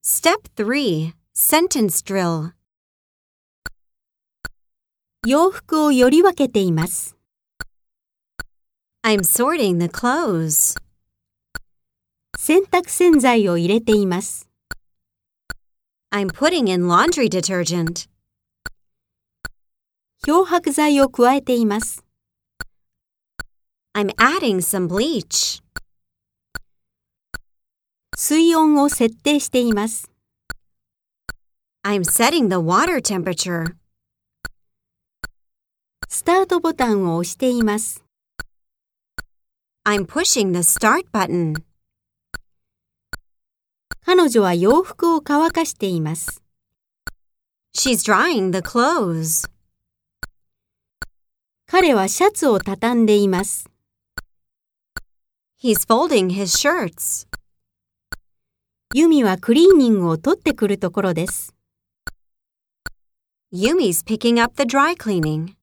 Step 3. Sentence Drill. 洋服をより分けています。 I'm sorting the clothes. 洗濯洗剤を入れています。 I'm putting in laundry detergent. 漂白剤を加えています。 I'm adding some bleach. 水温を設定しています。 I'm setting the water temperature. スタートボタンを押しています。 I'm pushing the start button. 彼女は洋服を乾かしています。 She's drying the clothes. 彼はシャツを畳んでいます。 He's folding his shirts. ユミはクリーニングを取ってくるところです。 Yumi's picking up the dry cleaning.